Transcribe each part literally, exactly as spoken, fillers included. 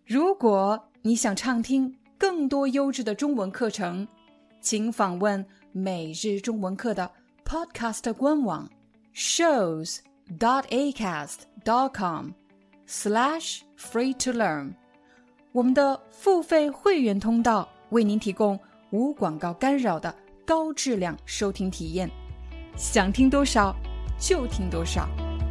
如果你想畅听更多优质的中文课程，请访问每日中文课的 Podcast 官网 shows dot acast dot com slash free to learn。 我们的付费会员通道为您提供无广告干扰的高质量收听体验，想听多少就听多少。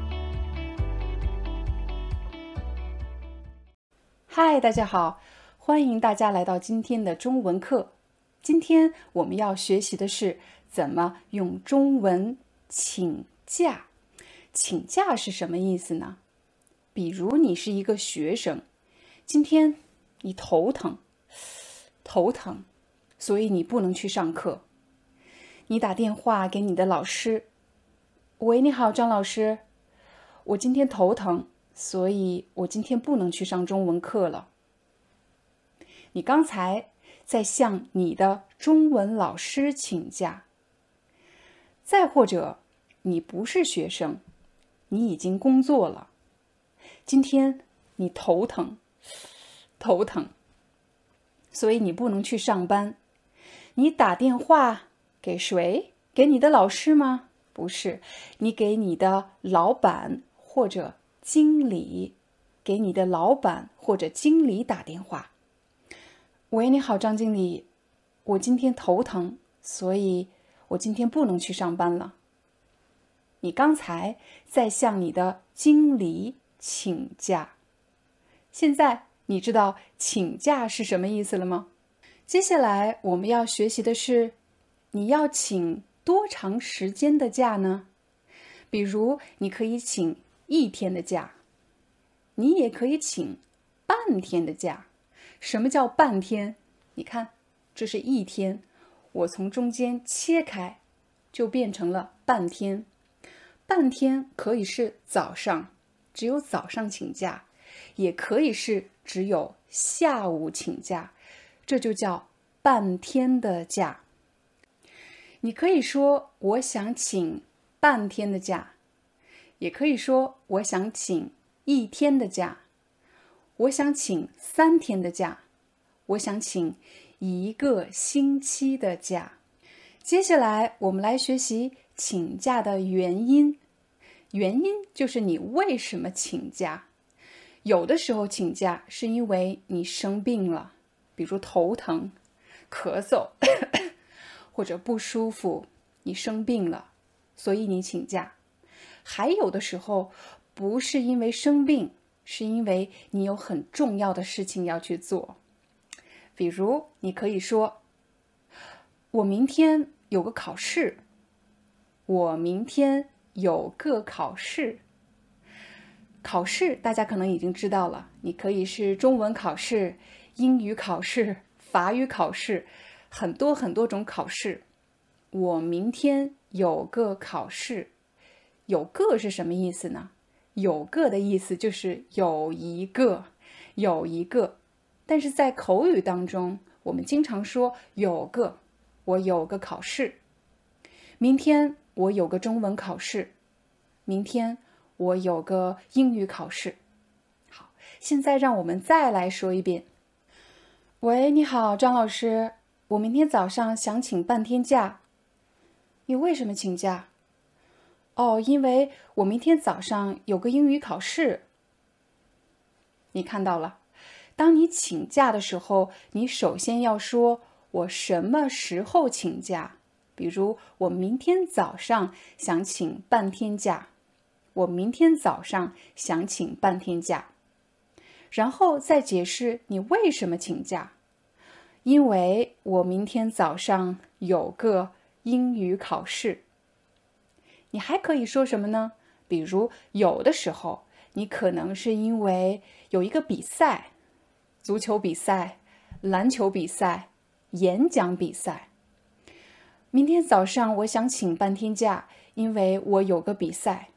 嗨，大家好，欢迎大家来到今天的中文课。今天我们要学习的是怎么用中文请假。请假是什么意思呢？比如你是一个学生，今天你头疼，头疼，所以你不能去上课。你打电话给你的老师，喂，你好，张老师，我今天头疼，所以我今天不能去上中文课了。你刚才在向你的中文老师请假。再或者，你不是学生，你已经工作了，今天你头疼，头疼，所以你不能去上班。你打电话给谁？给你的老师吗？不是，你给你的老板或者经理，给你的老板或者经理打电话。喂，你好，张经理，我今天头疼，所以我今天不能去上班了。你刚才在向你的经理请假。现在你知道请假是什么意思了吗？接下来我们要学习的是，你要请多长时间的假呢？比如你可以请一天的假，你也可以请半天的假。什么叫半天？你看，这是一天，我从中间切开，就变成了半天。半天可以是早上，只有早上请假，也可以是只有下午请假，这就叫半天的假。你可以说我想请半天的假，也可以说我想请一天的假，我想请三天的假，我想请一个星期的假。接下来我们来学习请假的原因。原因就是你为什么请假。有的时候请假是因为你生病了，比如头疼、咳嗽或者不舒服，你生病了，所以你请假。还有的时候不是因为生病，是因为你有很重要的事情要去做。比如你可以说，我明天有个考试，我明天有个考试。考试大家可能已经知道了，你可以是中文考试、英语考试、法语考试，很多很多种考试。我明天有个考试。有个是什么意思呢？有个的意思就是有一个，有一个。但是在口语当中，我们经常说有个，我有个考试。明天我有个中文考试。明天我有个英语考试。好，现在让我们再来说一遍。喂，你好，张老师，我明天早上想请半天假。你为什么请假？哦，因为我明天早上有个英语考试。你看到了，当你请假的时候，你首先要说我什么时候请假。比如我明天早上想请半天假，我明天早上想请半天假。然后再解释你为什么请假。因为我明天早上有个英语考试。你还可以说什么呢？比如有的时候你可能是因为有一个比赛，足球比赛、篮球比赛、演讲比赛。明天早上我想请半天假，因为我有个比赛。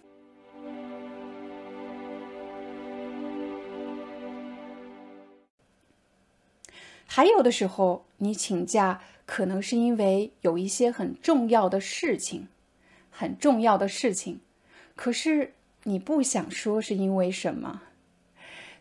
还有的时候你请假可能是因为有一些很重要的事情，很重要的事情，可是你不想说是因为什么。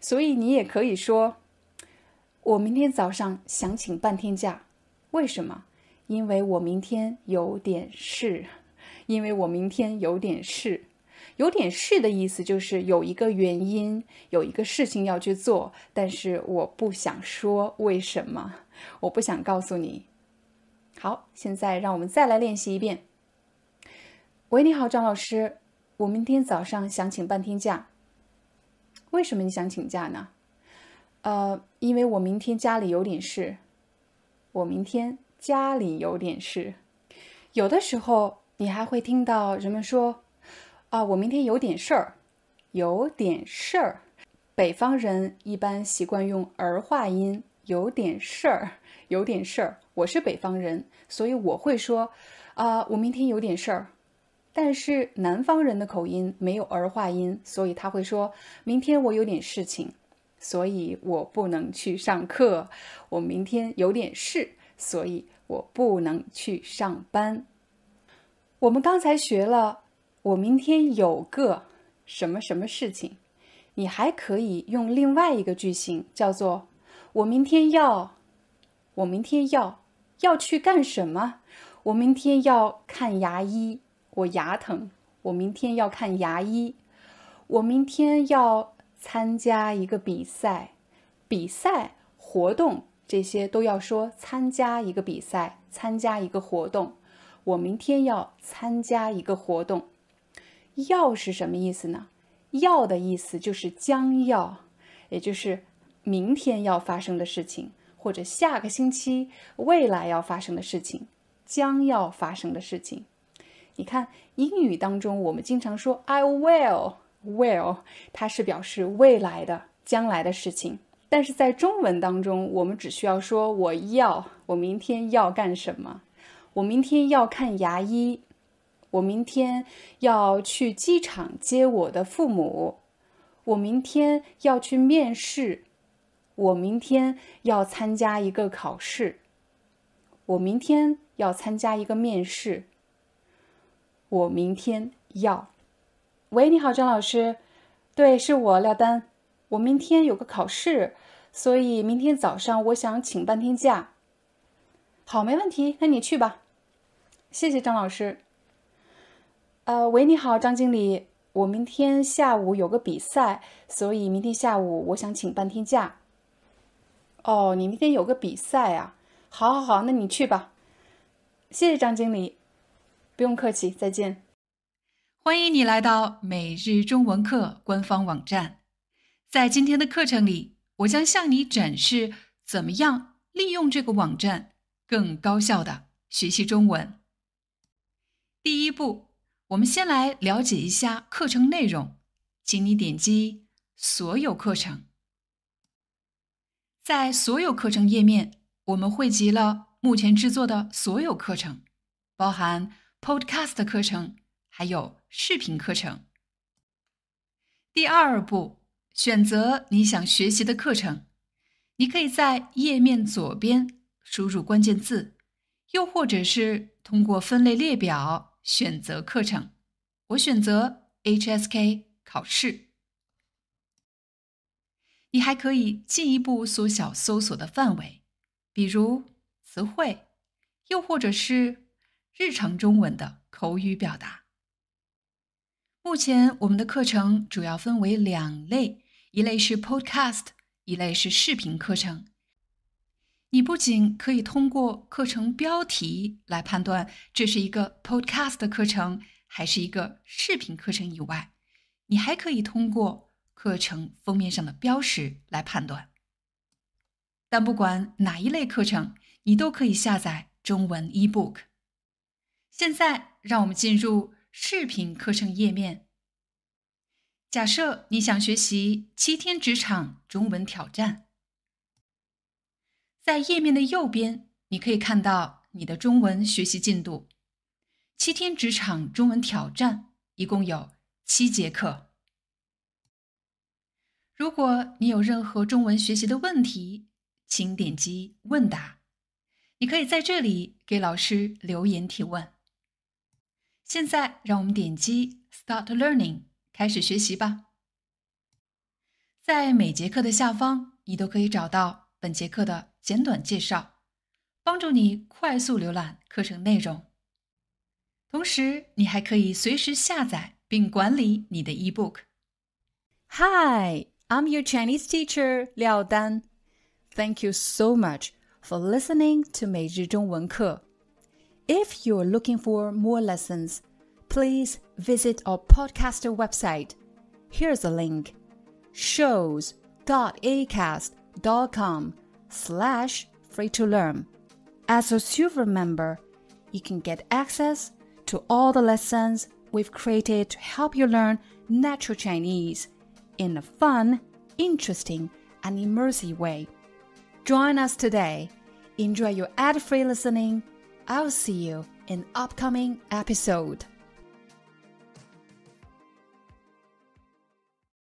所以你也可以说，我明天早上想请半天假。为什么？因为我明天有点事。因为我明天有点事。有点事的意思就是有一个原因，有一个事情要去做，但是我不想说为什么，我不想告诉你。好，现在让我们再来练习一遍。喂，你好，张老师，我明天早上想请半天假。为什么你想请假呢？呃，因为我明天家里有点事。我明天家里有点事。有的时候你还会听到人们说，啊，我明天有点事儿，有点事儿。北方人一般习惯用儿化音，有点事儿，有点事儿。我是北方人，所以我会说，啊，我明天有点事儿。但是南方人的口音没有儿化音，所以他会说，明天我有点事情，所以我不能去上课。我明天有点事，所以我不能去上班。我们刚才学了，我明天有个什么什么事情，你还可以用另外一个句型，叫做我明天要，我明天要要去干什么？我明天要看牙医，我牙疼，我明天要看牙医。我明天要参加一个比赛，比赛、活动这些都要说参加一个比赛，参加一个活动。我明天要参加一个活动。要是什么意思呢？要的意思就是将要，也就是明天要发生的事情，或者下个星期未来要发生的事情，将要发生的事情。你看，英语当中我们经常说 I will will， 它是表示未来的、将来的事情。但是在中文当中，我们只需要说我要，我明天要干什么？我明天要看牙医，我明天要去机场接我的父母，我明天要去面试，我明天要参加一个考试，我明天要参加一个面试，我明天要。喂，你好，张老师。对，是我廖丹。我明天有个考试，所以明天早上我想请半天假。好，没问题，那你去吧。谢谢张老师。呃，喂，你好，张经理。我明天下午有个比赛，所以明天下午我想请半天假。哦，你明天有个比赛啊？好，好，好，那你去吧。谢谢张经理。不用客气，再见。 欢迎你来到每日中文课官方网站。在今天的课程里，我将向你展示怎么样利用这个网站更高效地学习中文。第一步，我们先来了解一下课程内容，请你点击所有课程。在所有课程页面，我们汇集了目前制作的所有课程，包含 Podcast 课程，还有视频课程。第二步，选择你想学习的课程。你可以在页面左边输入关键字，又或者是通过分类列表选择课程。我选择 H S K 考试。你还可以进一步缩小搜索的范围，比如词汇，又或者是日常中文的口语表达。目前我们的课程主要分为两类，一类是 Podcast， 一类是视频课程。你不仅可以通过课程标题来判断这是一个 Podcast 的课程还是一个视频课程以外，你还可以通过课程封面上的标识来判断。但不管哪一类课程，你都可以下载中文 ebook。现在让我们进入视频课程页面。假设你想学习七天职场中文挑战，在页面的右边，你可以看到你的中文学习进度。七天职场中文挑战一共有七节课。如果你有任何中文学习的问题，请点击问答。你可以在这里给老师留言提问。现在让我们点击 Start Learning， 开始学习吧。 在每节课的下方，你都可以找到本节课的简短介绍，帮助你快速浏览课程内容。同时，你还可以随时下载并管理你的 ebook。 Hi, I'm your Chinese teacher, Liao Dan. Thank you so much for listening to 每日中文课。If you're looking for more lessons, please visit our podcaster website. Here's a link, shows.acast.com slash free to learn. As a silver member, you can get access to all the lessons we've created to help you learn natural Chinese in a fun, interesting, and immersive way. Join us today. Enjoy your ad-free listening. I'll see you in upcoming episode.